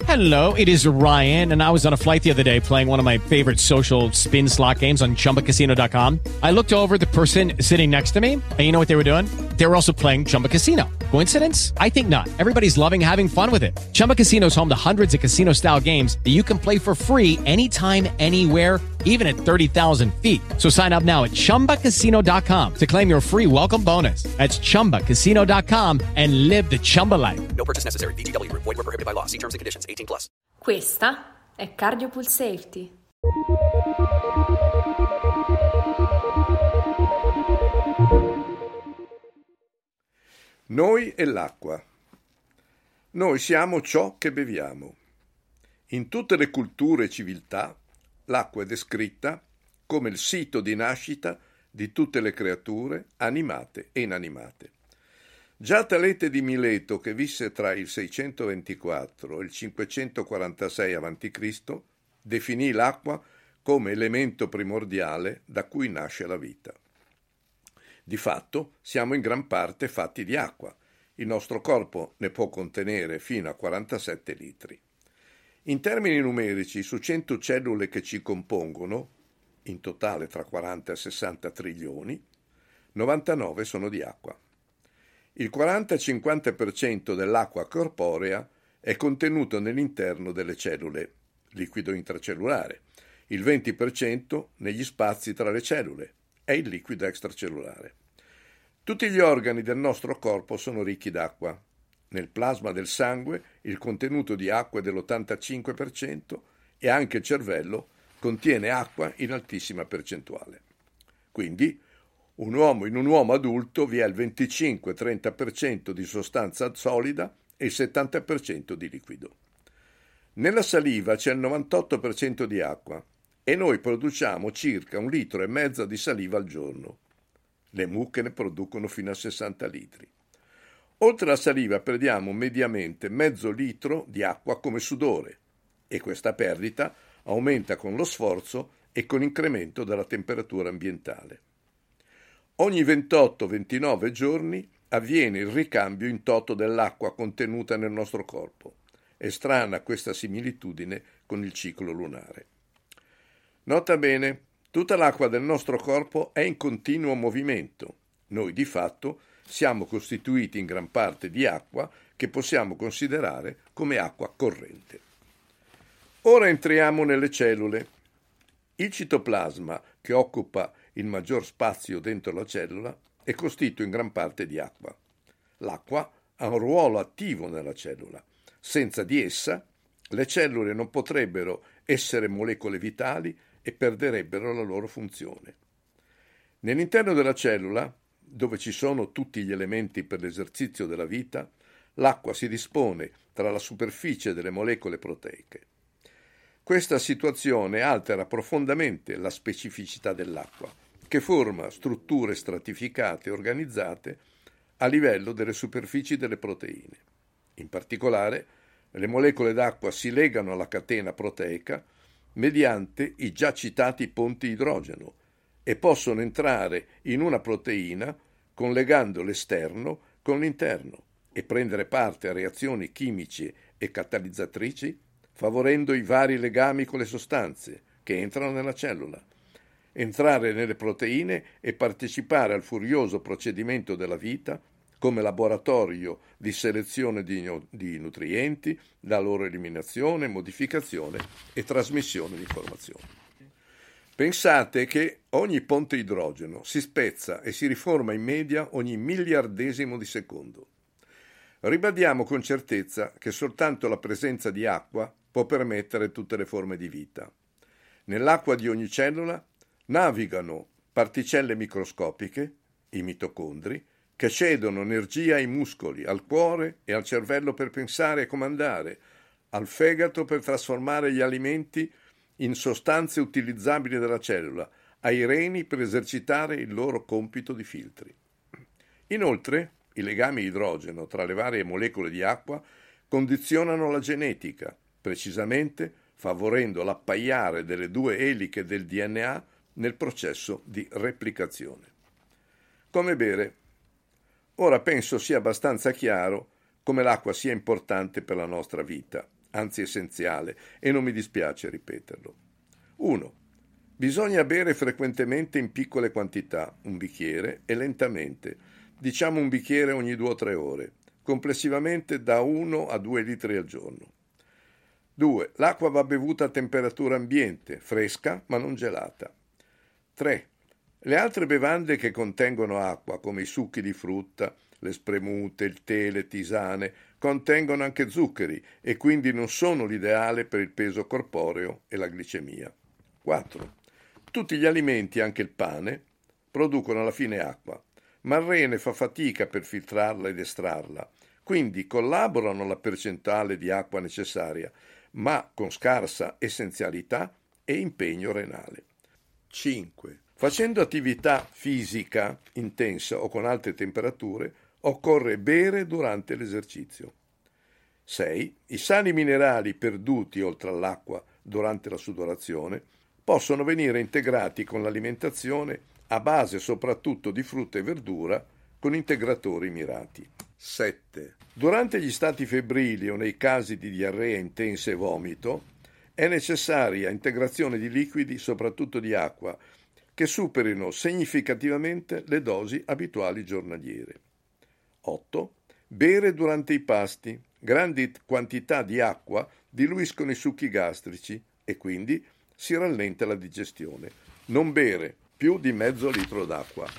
Hello, it is Ryan, and I was on a flight the other day playing one of my favorite social spin slot games on ChumbaCasino.com. I looked over at the person sitting next to me, and you know what they were doing? They were also playing Chumba Casino. Coincidence? I think not. Everybody's loving having fun with it. Chumba Casino is home to hundreds of casino-style games that you can play for free anytime, anywhere, even at 30,000 feet. So sign up now at ChumbaCasino.com to claim your free welcome bonus. That's ChumbaCasino.com and live the Chumba life. No purchase necessary. VGW. Void where prohibited by law. See terms and conditions. 18+. Questa è Cardio Pulsafety. Noi e l'acqua. Noi siamo ciò che beviamo. In tutte le culture e civiltà, l'acqua è descritta come il sito di nascita di tutte le creature, animate e inanimate. Già Talete di Mileto, che visse tra il 624 e il 546 a.C., definì l'acqua come elemento primordiale da cui nasce la vita. Di fatto, siamo in gran parte fatti di acqua. Il nostro corpo ne può contenere fino a 47 litri. In termini numerici, su 100 cellule che ci compongono, in totale tra 40 e 60 trilioni, 99 sono di acqua. Il 40-50% dell'acqua corporea è contenuto nell'interno delle cellule, liquido intracellulare, il 20% negli spazi tra le cellule, è il liquido extracellulare. Tutti gli organi del nostro corpo sono ricchi d'acqua. Nel plasma del sangue il contenuto di acqua è dell'85% e anche il cervello contiene acqua in altissima percentuale. Quindi in un uomo adulto vi è il 25-30% di sostanza solida e il 70% di liquido. Nella saliva c'è il 98% di acqua e noi produciamo circa 1,5 litri di saliva al giorno. Le mucche ne producono fino a 60 litri. Oltre alla saliva perdiamo mediamente mezzo litro di acqua come sudore e questa perdita aumenta con lo sforzo e con l'incremento della temperatura ambientale. Ogni 28-29 giorni avviene il ricambio in toto dell'acqua contenuta nel nostro corpo. È strana questa similitudine con il ciclo lunare. Nota bene, tutta l'acqua del nostro corpo è in continuo movimento. Noi di fatto siamo costituiti in gran parte di acqua che possiamo considerare come acqua corrente. Ora entriamo nelle cellule. Il citoplasma, che occupa il maggior spazio dentro la cellula, è costituito in gran parte di acqua. L'acqua ha un ruolo attivo nella cellula. Senza di essa, le cellule non potrebbero essere molecole vitali e perderebbero la loro funzione. Nell'interno della cellula, dove ci sono tutti gli elementi per l'esercizio della vita, l'acqua si dispone tra la superficie delle molecole proteiche. Questa situazione altera profondamente la specificità dell'acqua, che forma strutture stratificate e organizzate a livello delle superfici delle proteine. In particolare, le molecole d'acqua si legano alla catena proteica mediante i già citati ponti idrogeno e possono entrare in una proteina collegando l'esterno con l'interno e prendere parte a reazioni chimiche e catalizzatrici, favorendo i vari legami con le sostanze che entrano nella cellula, entrare nelle proteine e partecipare al furioso procedimento della vita come laboratorio di selezione di nutrienti, la loro eliminazione, modificazione e trasmissione di informazioni. Pensate che ogni ponte idrogeno si spezza e si riforma in media ogni miliardesimo di secondo. Ribadiamo con certezza che soltanto la presenza di acqua può permettere tutte le forme di vita. Nell'acqua di ogni cellula navigano particelle microscopiche, i mitocondri, che cedono energia ai muscoli, al cuore e al cervello per pensare e comandare, al fegato per trasformare gli alimenti in sostanze utilizzabili dalla cellula, ai reni per esercitare il loro compito di filtri. Inoltre, i legami idrogeno tra le varie molecole di acqua condizionano la genetica, precisamente favorendo l'appaiare delle due eliche del DNA nel processo di replicazione. Come bere. Ora penso sia abbastanza chiaro come l'acqua sia importante per la nostra vita, anzi essenziale, e non mi dispiace ripeterlo. 1. Bisogna bere frequentemente in piccole quantità, un bicchiere, e lentamente, diciamo un bicchiere ogni 2 o 3 ore, complessivamente da 1 a 2 litri al giorno. 2. L'acqua va bevuta a temperatura ambiente, fresca ma non gelata. 3. Le altre bevande che contengono acqua, come i succhi di frutta, le spremute, il tè, le tisane, contengono anche zuccheri e quindi non sono l'ideale per il peso corporeo e la glicemia. 4. Tutti gli alimenti, anche il pane, producono alla fine acqua, ma il rene fa fatica per filtrarla ed estrarla, quindi collaborano alla percentuale di acqua necessaria, ma con scarsa essenzialità e impegno renale. 5. Facendo attività fisica intensa o con alte temperature, occorre bere durante l'esercizio. 6. I sali minerali perduti oltre all'acqua durante la sudorazione possono venire integrati con l'alimentazione a base soprattutto di frutta e verdura con integratori mirati. 7. Durante gli stati febbrili o nei casi di diarrea intensa e vomito è necessaria integrazione di liquidi, soprattutto di acqua, che superino significativamente le dosi abituali giornaliere. 8. Bere durante i pasti. Grandi quantità di acqua diluiscono i succhi gastrici e quindi si rallenta la digestione. Non bere più di mezzo litro d'acqua.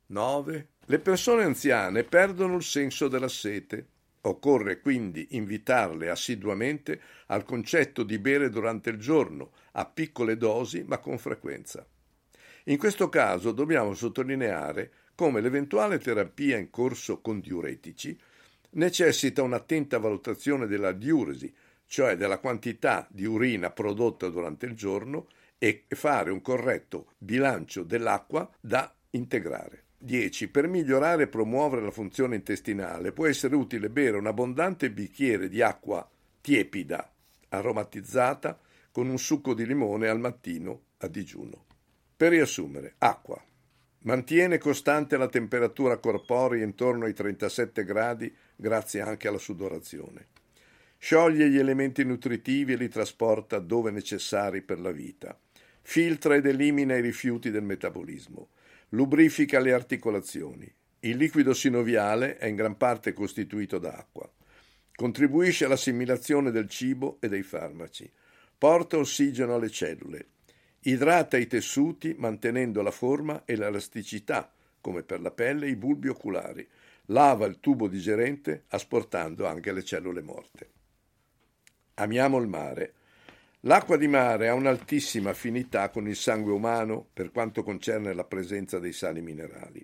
9. Le persone anziane perdono il senso della sete. Occorre quindi invitarle assiduamente al concetto di bere durante il giorno, a piccole dosi ma con frequenza. In questo caso dobbiamo sottolineare come l'eventuale terapia in corso con diuretici necessita un'attenta valutazione della diuresi, cioè della quantità di urina prodotta durante il giorno, e fare un corretto bilancio dell'acqua da integrare. 10. Per migliorare e promuovere la funzione intestinale può essere utile bere un abbondante bicchiere di acqua tiepida, aromatizzata, con un succo di limone al mattino a digiuno. Per riassumere, acqua. Mantiene costante la temperatura corporea intorno ai 37 gradi grazie anche alla sudorazione. Scioglie gli elementi nutritivi e li trasporta dove necessari per la vita. Filtra ed elimina i rifiuti del metabolismo. Lubrifica le articolazioni. Il liquido sinoviale è in gran parte costituito da acqua. Contribuisce all'assimilazione del cibo e dei farmaci. Porta ossigeno alle cellule. Idrata i tessuti mantenendo la forma e l'elasticità, come per la pelle e i bulbi oculari. Lava il tubo digerente asportando anche le cellule morte. Amiamo il mare. L'acqua di mare ha un'altissima affinità con il sangue umano per quanto concerne la presenza dei sali minerali.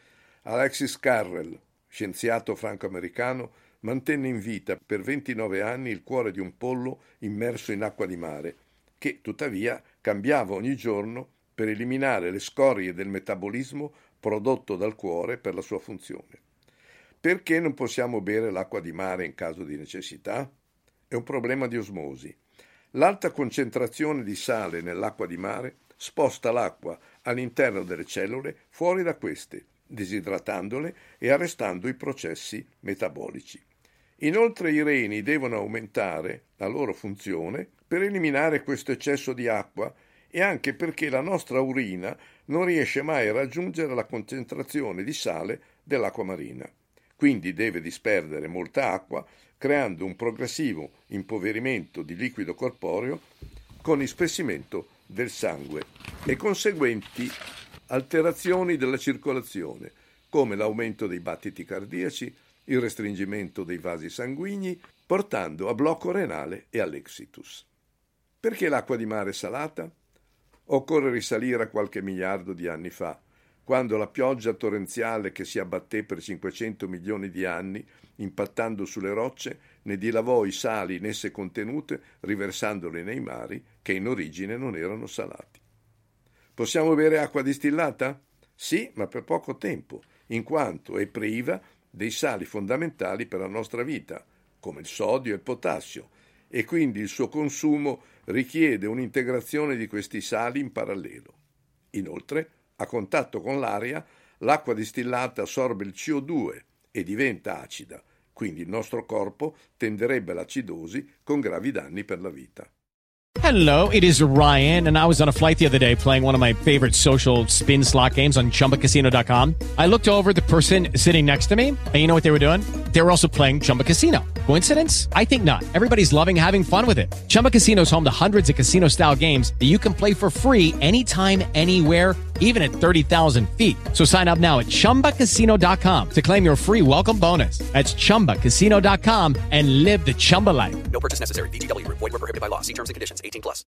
Alexis Carrel, scienziato franco-americano, mantenne in vita per 29 anni il cuore di un pollo immerso in acqua di mare, che tuttavia cambiava ogni giorno per eliminare le scorie del metabolismo prodotto dal cuore per la sua funzione. Perché non possiamo bere l'acqua di mare in caso di necessità? È un problema di osmosi. L'alta concentrazione di sale nell'acqua di mare sposta l'acqua all'interno delle cellule fuori da queste, disidratandole e arrestando i processi metabolici. Inoltre i reni devono aumentare la loro funzione per eliminare questo eccesso di acqua e anche perché la nostra urina non riesce mai a raggiungere la concentrazione di sale dell'acqua marina. Quindi deve disperdere molta acqua, creando un progressivo impoverimento di liquido corporeo con ispessimento del sangue e conseguenti alterazioni della circolazione, come l'aumento dei battiti cardiaci, il restringimento dei vasi sanguigni, portando a blocco renale e all'exitus. Perché l'acqua di mare è salata? Occorre risalire a qualche miliardo di anni fa, quando la pioggia torrenziale che si abbatté per 500 milioni di anni, impattando sulle rocce, ne dilavò i sali in esse contenute, riversandoli nei mari che in origine non erano salati. Possiamo bere acqua distillata? Sì, ma per poco tempo, in quanto è priva dei sali fondamentali per la nostra vita, come il sodio e il potassio, e quindi il suo consumo richiede un'integrazione di questi sali in parallelo. Inoltre, a contatto con l'aria, l'acqua distillata assorbe il CO2 e diventa acida, quindi il nostro corpo tenderebbe all'acidosi con gravi danni per la vita. Hello, it is Ryan, and I was on a flight the other day playing one of my favorite social spin slot games on ChumbaCasino.com. I looked over at the person sitting next to me, and you know what they were doing? They were also playing Chumba Casino. Coincidence? I think not. Everybody's loving having fun with it. Chumba Casino is home to hundreds of casino-style games that you can play for free anytime, anywhere, even at 30,000 feet. So sign up now at ChumbaCasino.com to claim your free welcome bonus. That's ChumbaCasino.com and live the Chumba life. No purchase necessary. VGW Group. Void where prohibited by law. See terms and conditions. 18+.